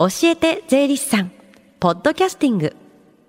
教えて税理士さんポッドキャスティング。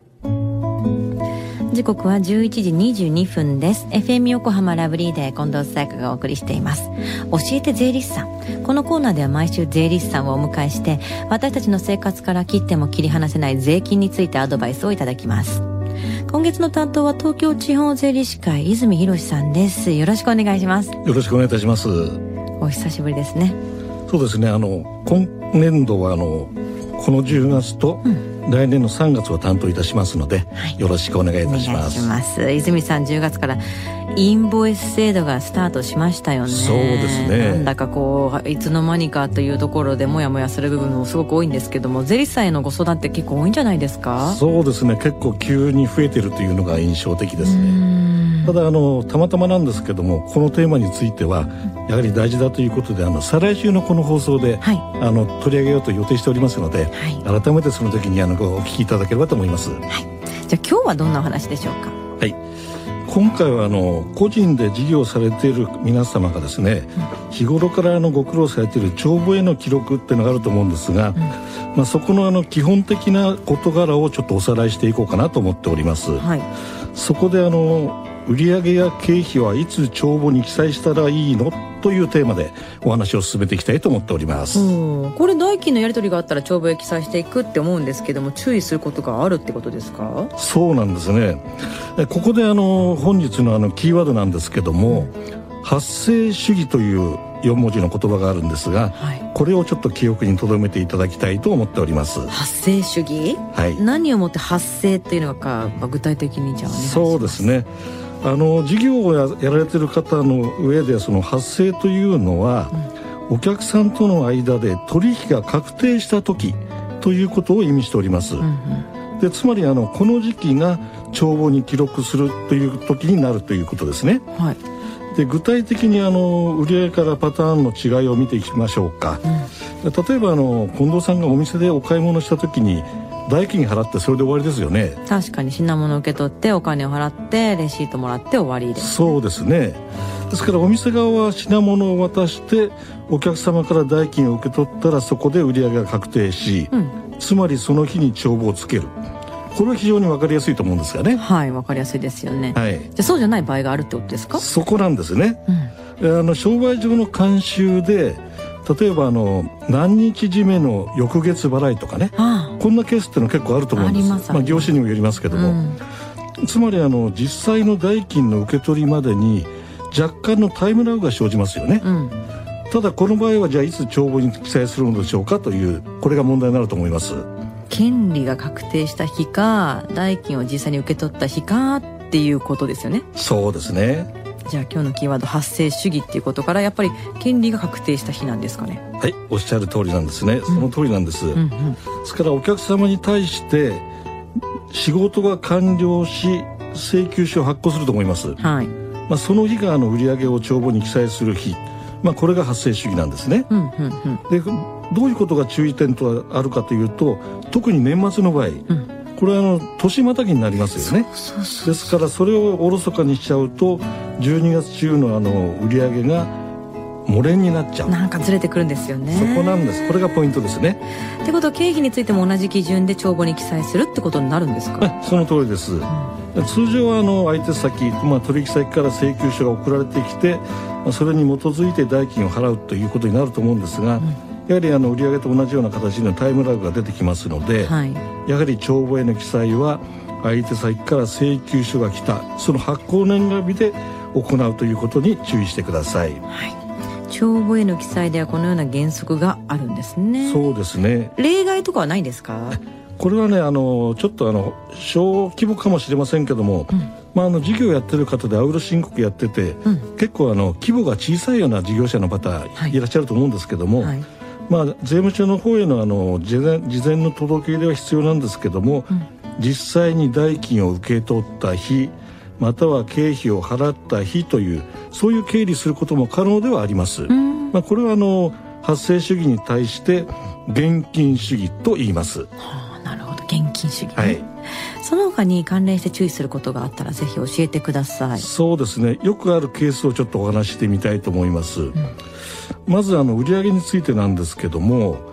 時刻は11時22分です。 FM 横浜ラブリーで近藤紗友香がお送りしています。教えて税理士さん。このコーナーでは毎週税理士さんをお迎えして、私たちの生活から切っても切り離せない税金についてアドバイスをいただきます。今月の担当は東京地方税理士会泉博さんです。よろしくお願いします。 よろしくお願いいたします。 お久しぶりですね。 そうですね、今年度はこの10月と来年の3月を担当いたしますので、よろしくお願いいたします。 お願いします。泉さん、10月からインボイス制度がスタートしましたよね。 そうですね。 なんだかいつの間にかというところでモヤモヤする部分もすごく多いんですけども、税理士さんへのご相談って結構多いんじゃないですか？ そうですね、結構急に増えているというのが印象的ですね。ただたまたまなんですけども、このテーマについてはやはり大事だということで、再来週のこの放送で、取り上げようと予定しておりますので、改めてその時にお聞きいただければと思います。 じゃあ今日はどんなお話でしょうか？ 今回は個人で事業されている皆様がですね、日頃からご苦労されている帳簿への記録っていうのがあると思うんですが、そこの基本的な事柄をちょっとおさらいしていこうかなと思っております。そこで売上や経費はいつ帳簿に記載したらいいのというテーマでお話を進めていきたいと思っております。 これ代金のやり取りがあったら帳簿へ記載していくって思うんですけども、注意することがあるってことですか？ そうなんですね。ここで本日のキーワードなんですけども、発生主義という4文字の言葉があるんですが、これをちょっと記憶に留めていただきたいと思っております。 発生主義、何をもって発生っていうのか、具体的にじゃあお願いします。 そうですね、事業をやられている方の上で、その発生というのは、お客さんとの間で取引が確定した時ということを意味しております。でつまりこの時期が帳簿に記録するという時になるということですね。で具体的に売上からパターンの違いを見ていきましょうか。例えば近藤さんがお店でお買い物した時に代金払ってそれで終わりですよね。 確かに品物を受け取ってお金を払ってレシートもらって終わりです、 そうですね。ですからお店側は品物を渡してお客様から代金を受け取ったら、そこで売上が確定し、つまりその日に帳簿をつける。これは非常に分かりやすいと思うんですがね。 分かりやすいですよね。じゃあそうじゃない場合があるってことですか？ そこなんですね。商売上の慣習で、例えば何日締めの翌月払いとかね、こんなケースっての結構あると思うんです。業種にもよりますけども、つまり実際の代金の受け取りまでに若干のタイムラグが生じますよね。ただこの場合はじゃあいつ帳簿に記載するのでしょうかという、これが問題になると思います。 権利が確定した日か代金を実際に受け取った日かっていうことですよね。 そうですね。 じゃあ今日のキーワード、発生主義っていうことから、やっぱり権利が確定した日なんですかね？ おっしゃる通りなんですね。その通りなんです。ですからお客様に対して仕事が完了し請求書を発行すると思います。その日が売上を帳簿に記載する日、これが発生主義なんですね。でどういうことが注意点とあるかというと、特に年末の場合、これは年またぎになりますよね。ですからそれをおろそかにしちゃうと12月中の売上が漏れになっちゃう。なんかずれてくるんですよね。 そこなんです。これがポイントですね。 ってことは経費についても同じ基準で帳簿に記載するってことになるんですか？ その通りです。通常は相手先、取引先から請求書が送られてきて、それに基づいて代金を払うということになると思うんですが、やはり売上と同じような形のタイムラグが出てきますので、やはり帳簿への記載は相手先から請求書が来たその発行年月日で行うということに注意してください。 帳簿への記載ではこのような原則があるんですね。 そうですね。 例外とかはないですか？ これはね、ちょっと小規模かもしれませんけども、事業やってる方で青色申告やってて、結構規模が小さいような事業者の方いらっしゃると思うんですけども、税務署の方への事前の届け入れは必要なんですけども、実際に代金を受け取った日または経費を払った日という、そういう経理することも可能ではあります。これは発生主義に対して現金主義と言います。 なるほど、現金主義、その他に関連して注意することがあったらぜひ教えてください。 そうですね、よくあるケースをちょっとお話してみたいと思います。まず売上についてなんですけども、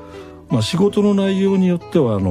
仕事の内容によっては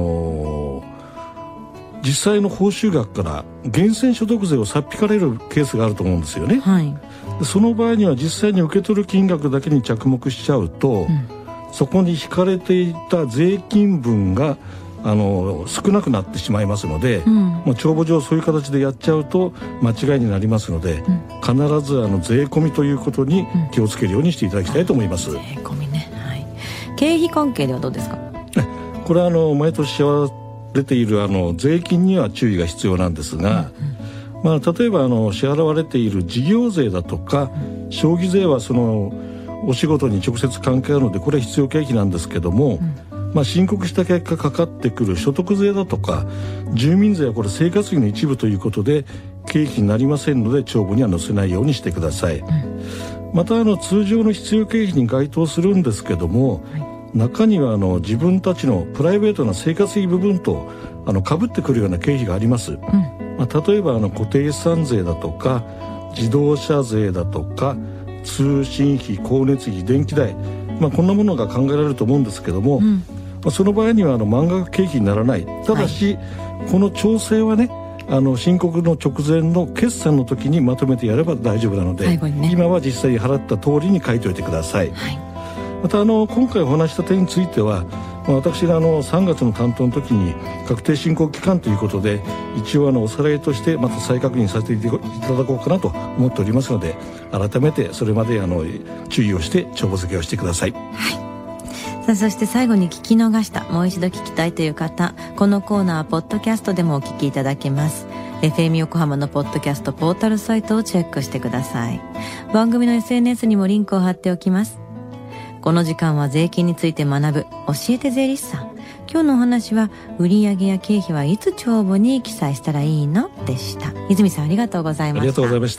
実際の報酬額から源泉所得税をさっ引かれるケースがあると思うんですよね、はい、その場合には実際に受け取る金額だけに着目しちゃうと、そこに引かれていた税金分が少なくなってしまいますので、帳簿上そういう形でやっちゃうと間違いになりますので、必ず税込みということに気をつけるようにしていただきたいと思います。 税込みね、はい、経費関係ではどうですか？ これは毎年支払われている税金には注意が必要なんですが、例えば支払われている事業税だとか消費税はそのお仕事に直接関係あるのでこれは必要経費なんですけども、申告した結果かかってくる所得税だとか住民税はこれ生活費の一部ということで経費になりませんので帳簿には載せないようにしてください。また通常の必要経費に該当するんですけども、中には自分たちのプライベートな生活費部分と被ってくるような経費があります、例えば固定資産税だとか自動車税だとか通信費、光熱費、電気代、こんなものが考えられると思うんですけども、その場合には満額経費にならない。ただし、この調整はね申告の直前の決算の時にまとめてやれば大丈夫なので、今は実際に払った通りに書いておいてください、また今回お話した点については私が3月の担当の時に確定申告期間ということで一応おさらいとしてまた再確認させていただこうかなと思っておりますので、改めてそれまで注意をして帳簿付けをしてください。 さあ、そして最後に聞き逃した、もう一度聞きたいという方、このコーナーはポッドキャストでもお聞きいただけます。 FM 横浜のポッドキャストポータルサイトをチェックしてください。番組の SNS にもリンクを貼っておきます。この時間は税金について学ぶ教えて税理士さん。今日のお話は売上や経費はいつ帳簿に記載したらいいのでした。泉さん、ありがとうございました。 ありがとうございました。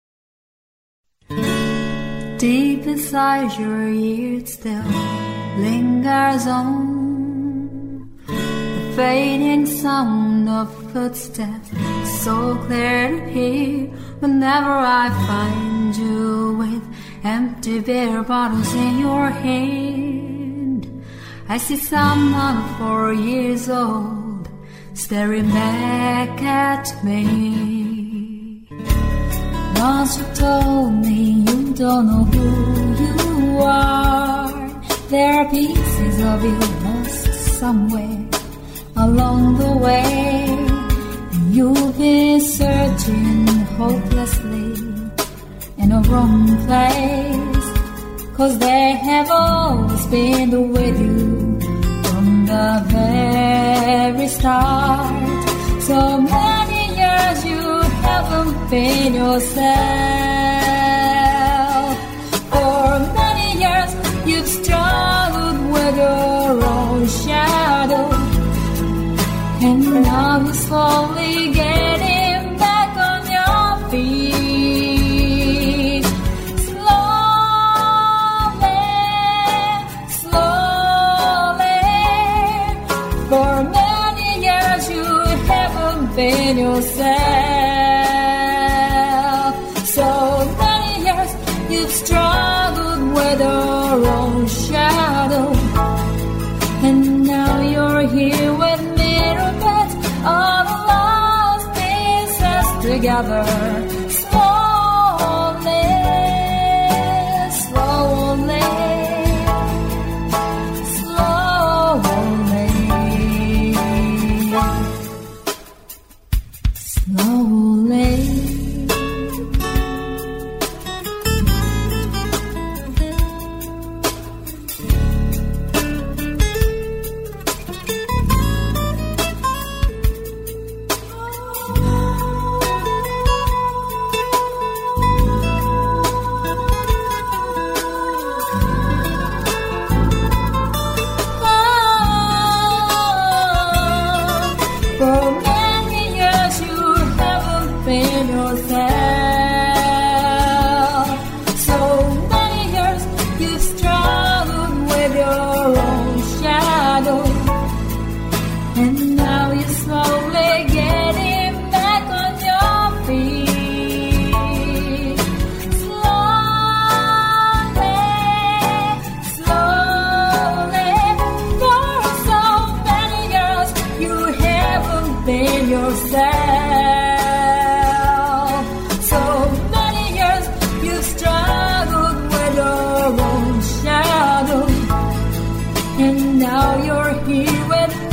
Deep inside your ears still lingers on the fading sound of footsteps, so clear to hear whenever I find you with empty beer bottles in your hand. I see someone 4 years old staring back at me. Once you told me you don't know who you are. There are pieces of you lost somewhere along the way, and you've been searching hopelessly in a wrong place, 'cause they have always been with you from the very start. So many years you haven't been yourself. For many years you've struggled with your own shadow, and now you're slowly getting back on your feet. Slowly, slowly. For many years you haven't been yourself. So many years you've struggled with your own shadow, and now you're here with me to put all the lost pieces together. Slowly, slowly, slowly, slowly. yourself. So many years you've struggled with your own shadow, and now you're here with me.